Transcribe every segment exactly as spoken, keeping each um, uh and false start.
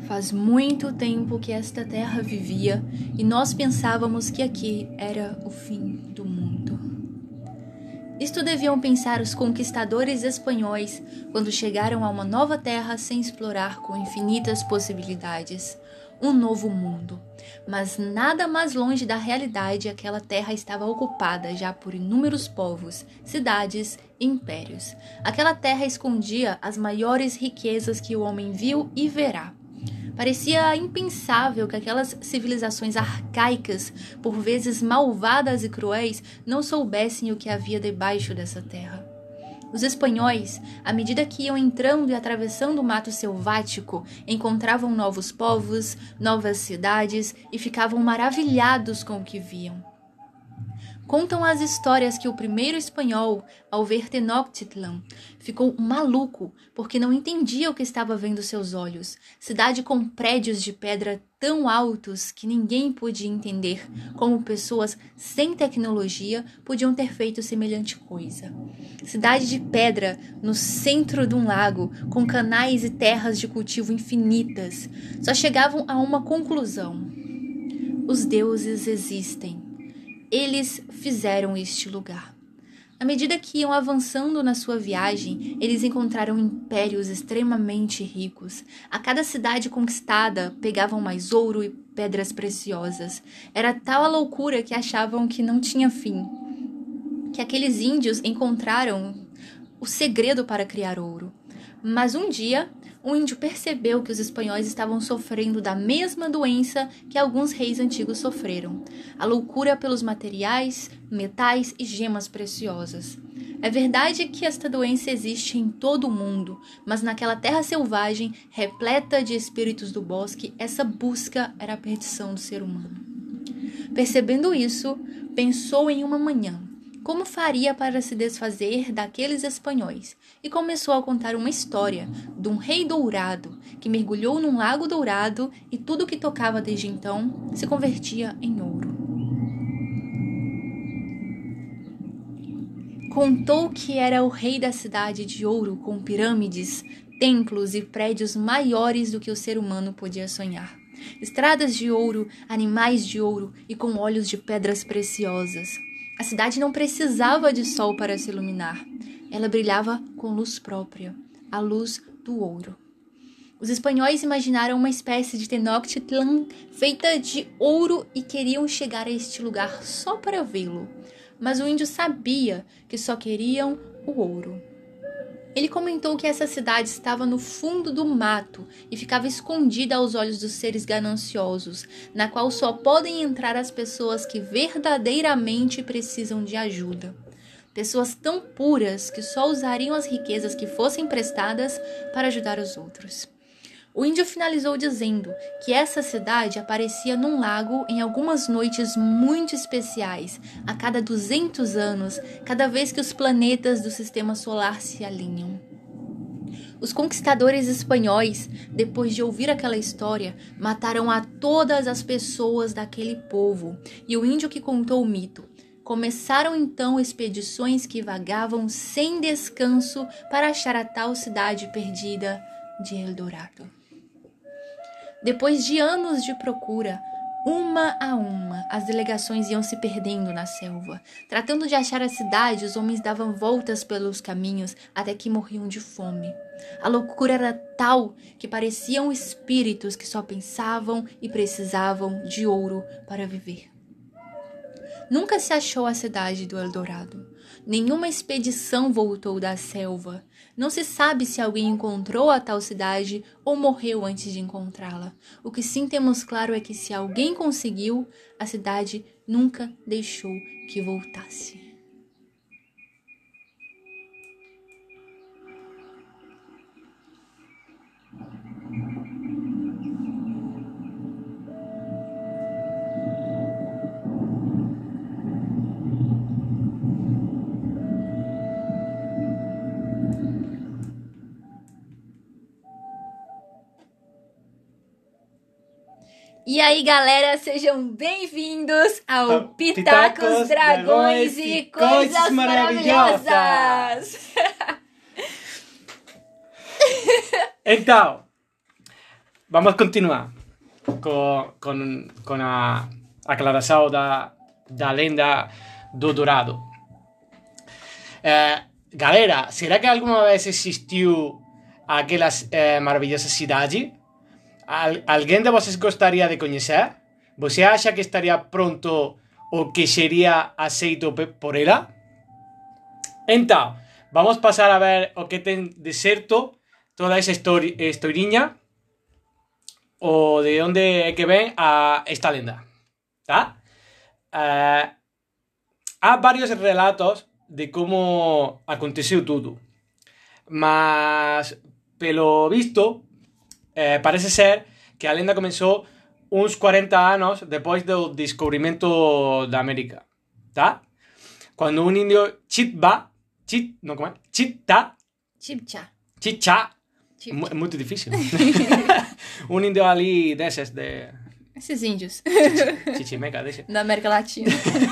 Faz muito tempo que esta terra vivia e nós pensávamos que aqui era o fim do mundo. Isto deviam pensar os conquistadores espanhóis quando chegaram a uma nova terra sem explorar com infinitas possibilidades. Um novo mundo. Mas nada mais longe da realidade, aquela terra estava ocupada já por inúmeros povos, cidades e impérios. Aquela terra escondia as maiores riquezas que o homem viu e verá. Parecia impensável que aquelas civilizações arcaicas, por vezes malvadas e cruéis, não soubessem o que havia debaixo dessa terra. Os espanhóis, à medida que iam entrando e atravessando o mato selvático, encontravam novos povos, novas cidades e ficavam maravilhados com o que viam. Contam as histórias que o primeiro espanhol, ao ver Tenochtitlan, ficou maluco porque não entendia o que estava vendo seus olhos. Cidade com prédios de pedra tão altos que ninguém podia entender como pessoas sem tecnologia podiam ter feito semelhante coisa. Cidade de pedra no centro de um lago, com canais e terras de cultivo infinitas. Só chegavam a uma conclusão: os deuses existem. Eles fizeram este lugar. À medida que iam avançando na sua viagem, eles encontraram impérios extremamente ricos. A cada cidade conquistada, pegavam mais ouro e pedras preciosas. Era tal a loucura que achavam que não tinha fim. Que aqueles índios encontraram o segredo para criar ouro. Mas um dia, um índio percebeu que os espanhóis estavam sofrendo da mesma doença que alguns reis antigos sofreram: a loucura pelos materiais, metais e gemas preciosas. É verdade que esta doença existe em todo o mundo, mas naquela terra selvagem, repleta de espíritos do bosque, essa busca era a perdição do ser humano. Percebendo isso, pensou em uma manhã como faria para se desfazer daqueles espanhóis, e começou a contar uma história de um rei dourado que mergulhou num lago dourado e tudo que tocava desde então se convertia em ouro. Contou que era o rei da cidade de ouro, com pirâmides, templos e prédios maiores do que o ser humano podia sonhar. Estradas de ouro, animais de ouro e com olhos de pedras preciosas. A cidade não precisava de sol para se iluminar. Ela brilhava com luz própria, a luz do ouro. Os espanhóis imaginaram uma espécie de Tenochtitlan feita de ouro e queriam chegar a este lugar só para vê-lo. Mas o índio sabia que só queriam o ouro. Ele comentou que essa cidade estava no fundo do mato e ficava escondida aos olhos dos seres gananciosos, na qual só podem entrar as pessoas que verdadeiramente precisam de ajuda. Pessoas tão puras que só usariam as riquezas que fossem emprestadas para ajudar os outros. O índio finalizou dizendo que essa cidade aparecia num lago em algumas noites muito especiais, a cada duzentos anos, cada vez que os planetas do sistema solar se alinham. Os conquistadores espanhóis, depois de ouvir aquela história, mataram a todas as pessoas daquele povo, e o índio que contou o mito. Começaram então expedições que vagavam sem descanso para achar a tal cidade perdida de Eldorado. Depois de anos de procura, uma a uma, as delegações iam se perdendo na selva. Tratando de achar a cidade, os homens davam voltas pelos caminhos até que morriam de fome. A loucura era tal que pareciam espíritos que só pensavam e precisavam de ouro para viver. Nunca se achou a cidade do Eldorado. Nenhuma expedição voltou da selva. Não se sabe se alguém encontrou a tal cidade ou morreu antes de encontrá-la. O que sim temos claro é que se alguém conseguiu, a cidade nunca deixou que voltasse. E aí, galera, sejam bem-vindos ao Pitacos, Pitacos Dragões, Dragões e Coisas, coisas Maravilhosas! Então, vamos a continuar con, con, con a aclaração da, da lenda do Dourado. Eh, galera, será que alguma vez existiu aquela eh, maravilhosa cidade? Al, alguém de vocês gostaria de conhecer? Você acha que estaria pronto ou que seria aceito por ela? Então, vamos passar a ver o que tem de certo toda essa historinha ou de onde é que vem a esta lenda, tá? Uh, há vários relatos de como aconteceu tudo, mas pelo visto eh, parece ser que a lenda começou uns quarenta anos depois do descobrimento da América, tá? Quando um índio Chitba, Chit, não, como é? Chita, Chipcha. Chicha, é muito difícil. Um índio ali desses de... Esses índios. Chichimeca, desse. Da América Latina.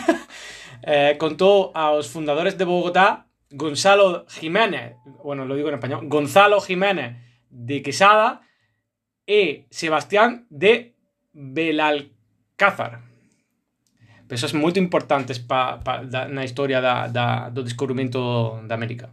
eh, contó a los fundadores de Bogotá, Gonzalo Jiménez, bueno, lo digo en español, Gonzalo Jiménez de Quesada y Sebastián de Belalcázar. Pero eso es muy importante para pa, la historia da, da, do descubrimento da América.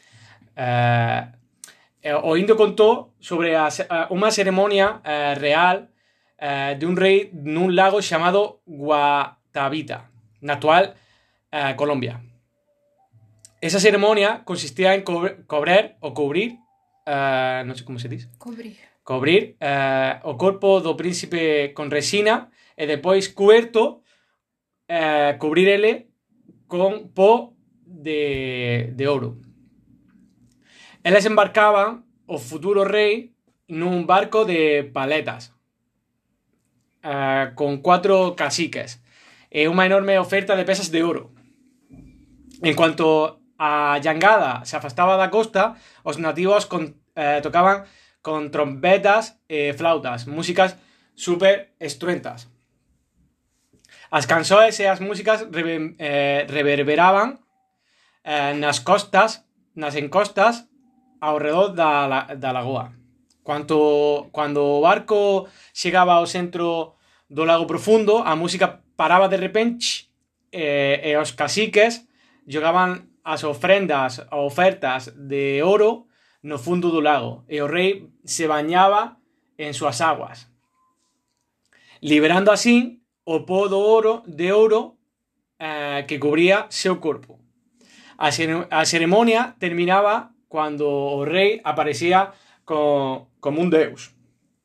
Eh, o indio contó sobre a, a una ceremonia eh, real eh, de un rey en un lago llamado Guatavita, na actual eh, Colombia. Esa ceremonia consistía en co cobrar o cubrir, eh, no sé cómo se dice, Cobrir, cobrir eh, o corpo do príncipe con resina e depois cuberto eh, cubrir ele con po de, de ouro. Eles embarcaban o futuro rei nun barco de paletas eh, con cuatro caciques e unha enorme oferta de pesas de oro. En cuanto a Yangada se afastaba da costa, os nativos con, eh, tocaban con trompetas e flautas, músicas super estruentas. As canções e as músicas rever, eh, reverberaban eh, nas costas, nas encostas ao redor da, da lagoa. Cuando, cuando o barco chegaba ao centro do lago profundo, a música paraba de repente eh, e os caciques jogaban as ofrendas ou ofertas de oro no fundo do lago e o rei se bañaba en súas aguas, liberando así o po do oro de ouro eh, que cubría seu corpo. A, a ceremonia terminaba cuando o rei aparecía co, como un deus.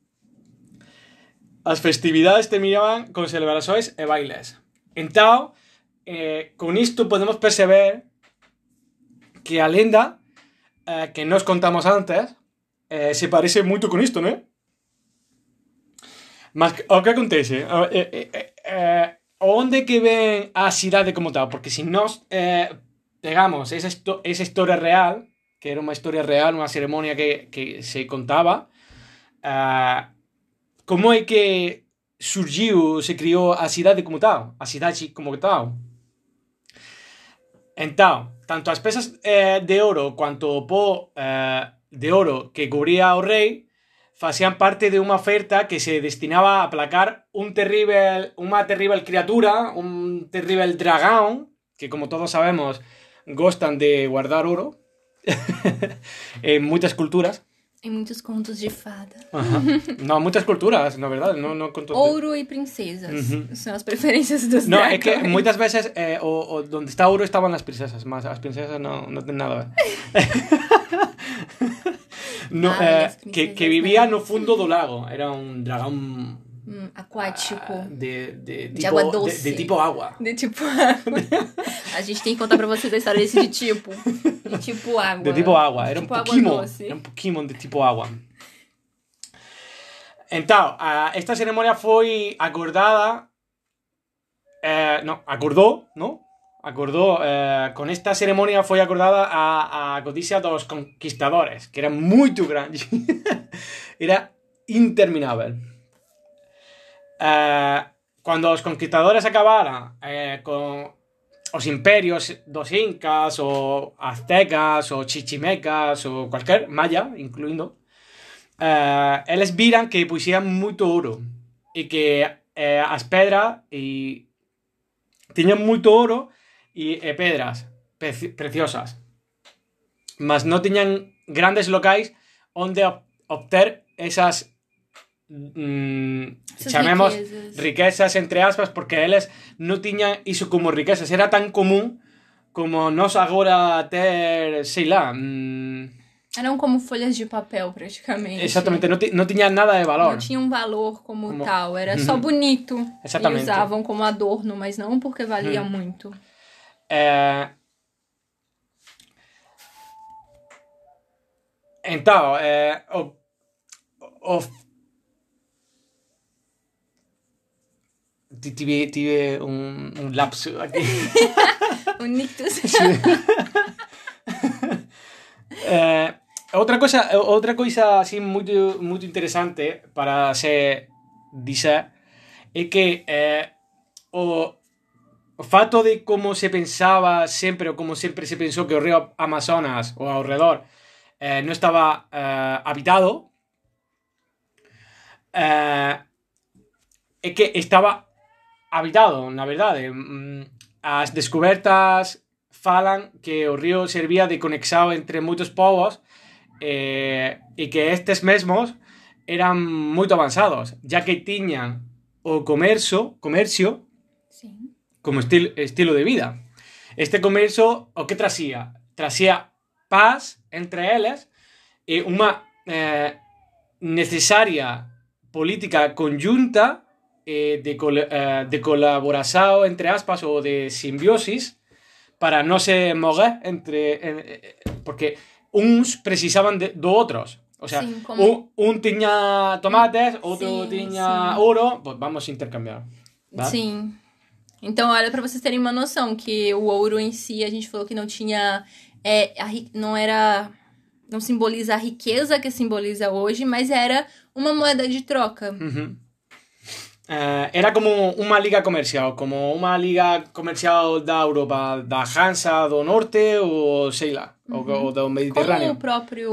As festividades terminaban con celebrações e bailes. Entao, eh, con isto podemos perceber que a lenda eh, que nos contamos antes eh, se parece moito con isto, non? Mas o que acontece? Eh, eh, eh, eh, onde que ven a cidade como tal? Porque se si nos eh, pegamos esa, esa historia real, que era unha historia real, unha ceremonia que, que se contaba, eh, como é que surgiu, se criou a cidade como tal? A cidade como tal? Entón, tanto as pesas eh, de oro quanto o po eh, de oro que cubría o rei facían parte de unha oferta que se destinaba a aplacar un terrible, unha terrible criatura, un terrible dragón, que como todos sabemos gostan de guardar oro en moitas culturas. Em muitos contos de fada. Uhum. Não, muitas culturas, na verdade. Não, não contos ouro de... e princesas. Uhum. São as preferências dos Não, dragões. é que muitas vezes eh, o, o, onde está ouro estaban as princesas, mas as princesas não, não tem nada a ver. no, ah, eh, que, que vivía no fundo do lago. Era un dragón hum, aquático. De, de, tipo, de água doce. De, de tipo água. De tipo água. A gente tem que contar pra vocês a história desse de tipo. De tipo água. De tipo água. Era tipo um Pokémon. Era um Pokémon de tipo água. Então, esta ceremonia foi acordada. Eh, no, acordó, ¿no? Acordó. Eh, con esta ceremonia foi acordada a, a codicia dos conquistadores, que era muito grande. Era interminável. Eh, cuando os conquistadores acabaran eh, con os imperios dos incas, o aztecas, o chichimecas, o cualquier maya, incluindo, eh, eles viran que poseían moito ouro e que eh, as pedras e tiñan moito ouro e, e pedras preci- preciosas, mas non tiñan grandes locais onde obter esas mm, chamemos riquezas. riquezas entre aspas, porque eles non tiñan iso como riquezas, era tan común como nós agora ter, sei lá, mm, eram como folhas de papel, praticamente. Exatamente, não, não tinha nada de valor. Não tinha um valor como, como... tal, era só bonito. Exatamente. E usavam como adorno, mas não porque valia hum. muito. É... Então, é... o... o... Tive, tive um, um lapso aqui. um nictus. é... Outra coisa, outra coisa así muito, muito interesante para se dizer é que eh, o, o fato de como se pensaba sempre, ou como sempre se pensou que o río Amazonas ou ao redor eh, non estaba eh, habitado, eh, é que estaba habitado, na verdade. As descobertas falan que o río servía de conexao entre moitos povos, Eh, e que estes mesmos eran moito avanzados, ya que tiñan o comercio, comercio sí. como estil, estilo de vida. Este comercio o que trasía? Trasía paz entre eles e unha eh, necesaria política conjunta eh, de, col, eh, de colaboración entre aspas ou de simbiosis para non se moguer entre eh, porque uns precisaban de, do outros. O sea, sí, como... un, un tiña tomates, outro sí, tiña sí. ouro, pues vamos a intercambiar. Tá? Sim. Então, olha, pra vocês terem uma noção, que o ouro em si, a gente falou que não tinha... É, a, não era... Não simboliza a riqueza que simboliza hoje, mas era uma moeda de troca. Uhum. Uh, era como unha liga comercial, como unha liga comercial da Europa, da Hansa do Norte, ou sei lá, uhum. ou do Mediterrâneo. Como o próprio...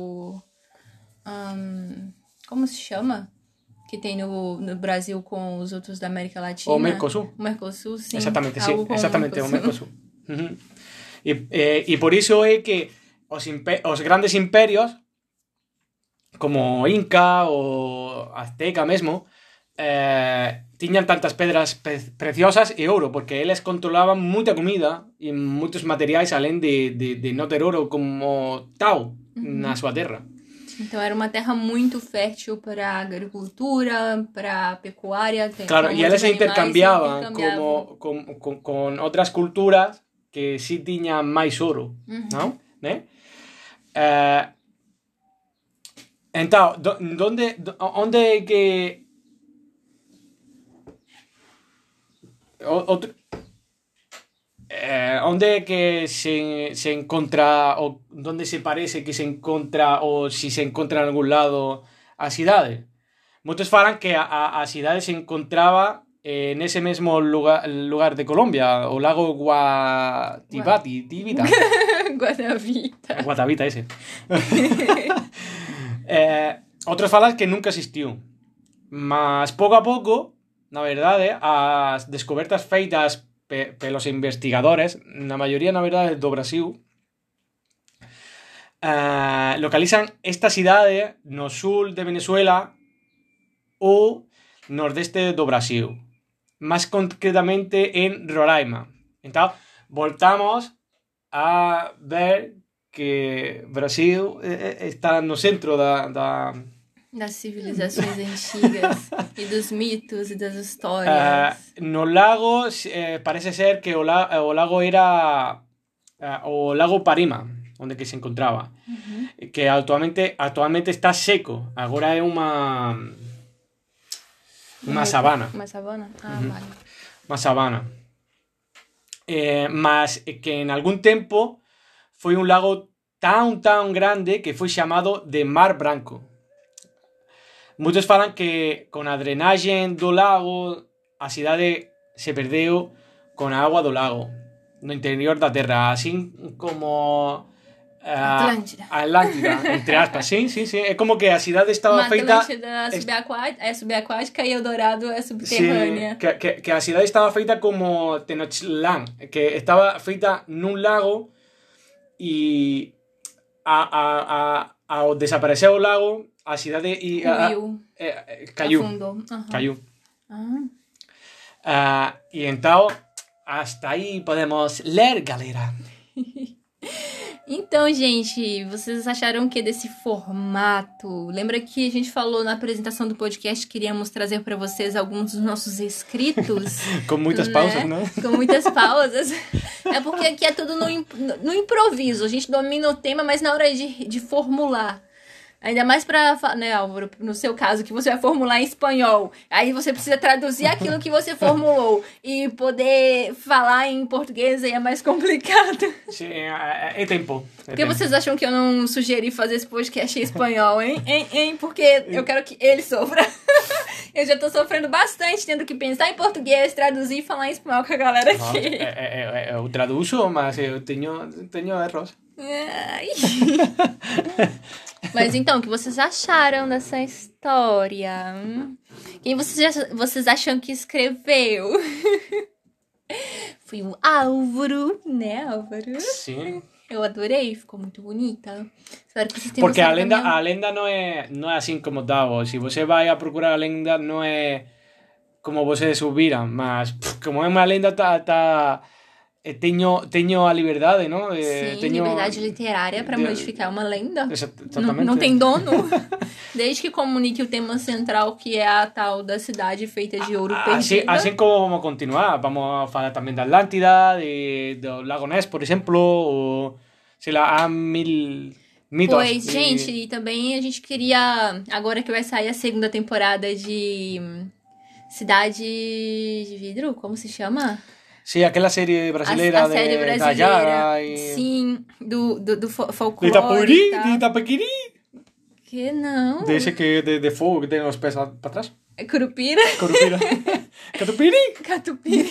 Um, como se chama? Que tem no, no Brasil com os outros da América Latina. O Mercosul. O Mercosul, sim. Exatamente, sim. Exatamente, o Mercosul. Uhum. E, e, e por iso é que os, imper os grandes imperios, como Inca ou Azteca mesmo, Eh, tiñan tantas pedras pe preciosas e ouro, porque eles controlaban moita comida e moitos materiais alén de, de, de non ter ouro como tal uhum. na súa terra. Então era uma terra muito fértil para a agricultura, para a pecuária. Claro, e eles se intercambiaban, intercambiaban. Como, con, con, con outras culturas que sí tiñan máis ouro, uhum. non? Né? Eh, então, do, donde, onde é que Outro, eh, onde que se, se encontra ou onde se parece que se encontra ou se se encontra en algún lado a cidade? Moitos falan que a, a, a cidade se encontraba eh, nese mesmo lugar, lugar de Colombia, o lago Guatibati, Tibita. Guatavita. Guatavita ese. eh, outros falan que nunca existiu. Mas pouco a pouco, na verdade, as descobertas feitas pe pelos investigadores, na maioría, na verdade, do Brasil, uh, localizan esta cidade no sul de Venezuela ou nordeste do Brasil, máis concretamente en Roraima. Então, voltamos a ver que Brasil está no centro da... da das civilizações antigas e dos mitos e das histórias. Uh, no lago, eh, parece ser que o, la, o lago era uh, o lago Parima, onde que se encontraba, uh-huh. que actualmente, actualmente está seco. Agora é unha unha sabana. Unha sabana? Ah, uh-huh. Vale. Unha sabana. Eh, mas que en algún tempo foi un lago tan, tan grande que foi chamado de Mar Branco. Moitos falan que con a drenaxe do lago a cidade se perdeu con a agua do lago no interior da terra, así como a Atlântida. Atlântida, entre aspas, sim, sim, sim. É como que a cidade estava Uma feita... Atlântida subaquática, é subaquática e Eldorado é subterrânea. Sí, que, que, que a cidade estaba feita como Tenochtitlán, que estaba feita nun lago e a, a, a, ao desaparecer o lago, a cidade e a, Ruiu. eh, caiu. Afundou. Aham. Caiu. Ah. Ah, e então, hasta aí podemos ler, galera. Então, gente, vocês acharam o que desse formato? Lembra que a gente falou na apresentação do podcast que queríamos trazer para vocês alguns dos nossos escritos? Com muitas né? pausas, né? Com muitas pausas. É porque aqui é tudo no, imp- no improviso. A gente domina o tema, mas na hora de, de formular. Ainda mais pra, fa- né, Álvaro, no seu caso, que você vai formular em espanhol. Aí você precisa traduzir aquilo que você formulou. E poder falar em português aí é mais complicado. Sim, é, é tempo. É Por que tempo. vocês acham que eu não sugeri fazer esse podcast em espanhol, hein? hein, hein? Porque eu quero que ele sofra. Eu já tô sofrendo bastante, tendo que pensar em português, traduzir e falar em espanhol com a galera Não, aqui. é, é, é, eu traduzo, mas eu tenho, tenho erros. Ai. Mas então, o que vocês acharam dessa história? Hum? Quem vocês, vocês acham que escreveu? Foi o Álvaro, né, Álvaro? Sim. Eu adorei, ficou muito bonita. Espero que vocês tenham Porque a gostado da lenda, minha- a lenda não é, não é assim como Davos. Se você vai a procurar a lenda, não é como vocês ouviram, mas pff, como é uma lenda, tá, tá, eh, tenho, tenho a liberdade, não? Eh, Sim, tenho... liberdade literária para de- modificar uma lenda. Exa- Não, Exatamente. não tem dono. Desde que comunique o tema central, que é a tal da cidade feita de ouro Así, perdida. así como vamos a continuar, vamos a falar también de Atlántida, de, de Lago Ness, por exemplo, ou sei lá, há mil mitos. Pois, e- gente, e também a gente queria, agora que vai sair a segunda temporada de Cidade de Vidro, como se chama? Sí, aquela série A, brasileira a série de brasileira, Tayara e... sim, do, do, do fo- De folclore Itapuri, e tal. de Itapequiri. Que não? Desse que de, de fogo que tem os pés para trás. É Curupira? Corupira. Catupiri. Catupiri.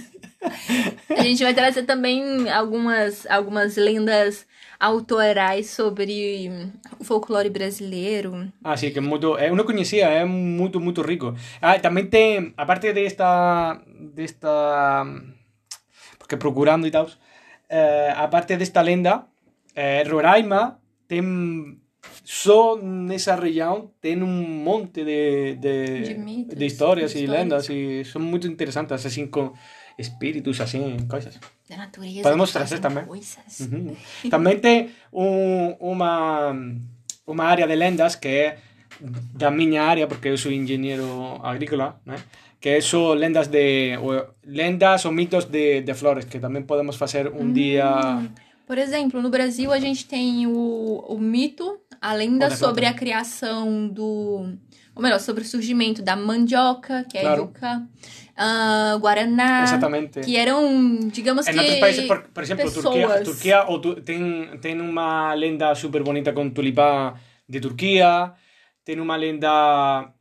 A gente vai trazer também algumas, algumas lendas autorais sobre o folclore brasileiro. Así que muito, eu não conhecia, é muito, muito rico. Ah, também tem, a parte desta, desta, porque procurando e tal, eh, a parte desta lenda, eh, Roraima tem, só nessa região, tem um monte de, de, De mitos, de histórias de e histórias. lendas, e são muito interessantes, assim, com espíritos, assim, coisas. Da natureza. Podemos que fazem trazer também. coisas. Uhum. Também tem um, uma, uma área de lendas que é da minha área, porque eu sou engenheiro agrícola, né? Que são lendas de ou, lendas ou mitos de, de flores, que também podemos fazer um dia. Por exemplo, no Brasil a gente tem o, o mito, a lenda Ou da sobre planta. a criação do... Ou melhor, sobre o surgimento da mandioca, que é Claro. a yuca, ah, guaraná, Exatamente. que eram, digamos Em que, outros países, por, por exemplo, Turquia, pessoas. Turquia ou tu, tem, tem uma lenda super bonita com tulipã de Turquia, tem uma lenda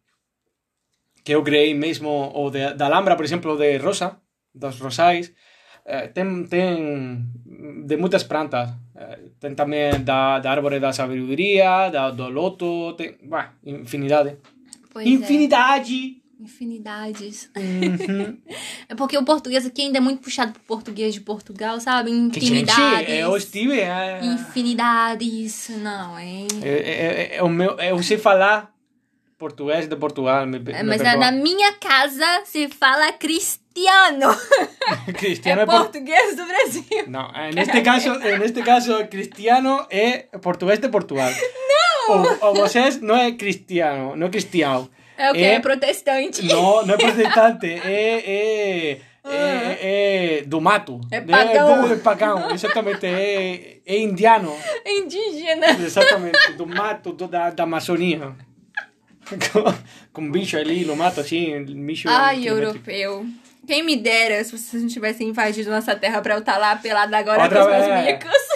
que eu criei mesmo, ou de, da Alhambra, por exemplo, de Rosa, dos Rosais, eh, tem, tem de muitas plantas, eh, tem também da, da árvore da sabedoria, da, do loto, tem, bah, infinidade. Pois é. Infinidade! Infinidades. Uhum. É porque o português aqui ainda é muito puxado pro português de Portugal, sabe? Que gente, Infinidades. eu estive... eh, Infinidades. Não, hein? É, é, é o meu, eu sei falar português de Portugal. Me, É, me mas perdoa. na minha casa se fala cristiano. Cristiano é é por... português do Brasil. Não, neste caso, neste caso, cristiano é português de Portugal. Não! Ou, ou vocês não é cristiano, não é cristiano. É o que? É- É protestante. Não, não é protestante, é, é, é, é do mato. É pagão. É, é pagão, exatamente, é, é indiano. Indígena. Exatamente, do mato, do, da, da Amazônia. Com, com bicho ali no mato, assim, bicho... Ai, quilométrico. europeu. Quem me dera se vocês não tivessem invadido nossa terra pra eu estar lá pelada agora Outra com os meus vez.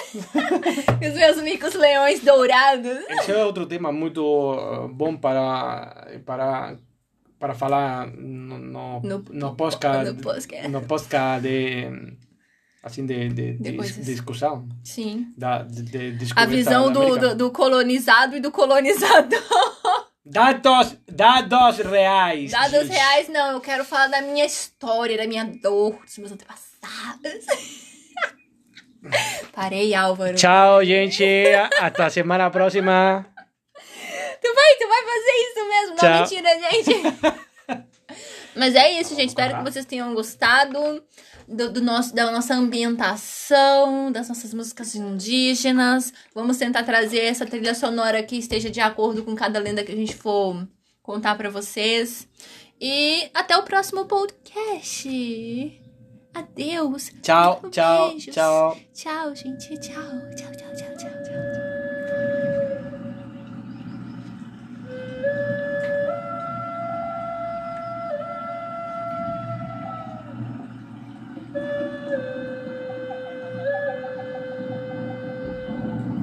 micos. Os meus micos leões dourados. Esse é outro tema muito uh, bom para, para, para falar no, no, No- no podcast, no podcast. no podcast de, assim, de, de, De de coisas. discussão. Sim. Da, de, de A descoberta visão da do, América. do, do colonizado e do colonizador. Dados, dados reais. Dados gente. reais, não. Eu quero falar da minha história, da minha dor, dos meus antepassados. Parei, Álvaro. Tchau, gente. Até a semana próxima. Tu vai, tu vai fazer isso mesmo? Não, Tchau. mentira, gente. Mas é isso, gente. Espero que vocês tenham gostado do, do nosso, da nossa ambientação, das nossas músicas indígenas. Vamos tentar trazer essa trilha sonora que esteja de acordo com cada lenda que a gente for contar pra vocês. E até o próximo podcast. Adeus. Tchau, tchau, Beijos. tchau. Tchau, gente. Tchau, tchau, tchau, tchau, tchau.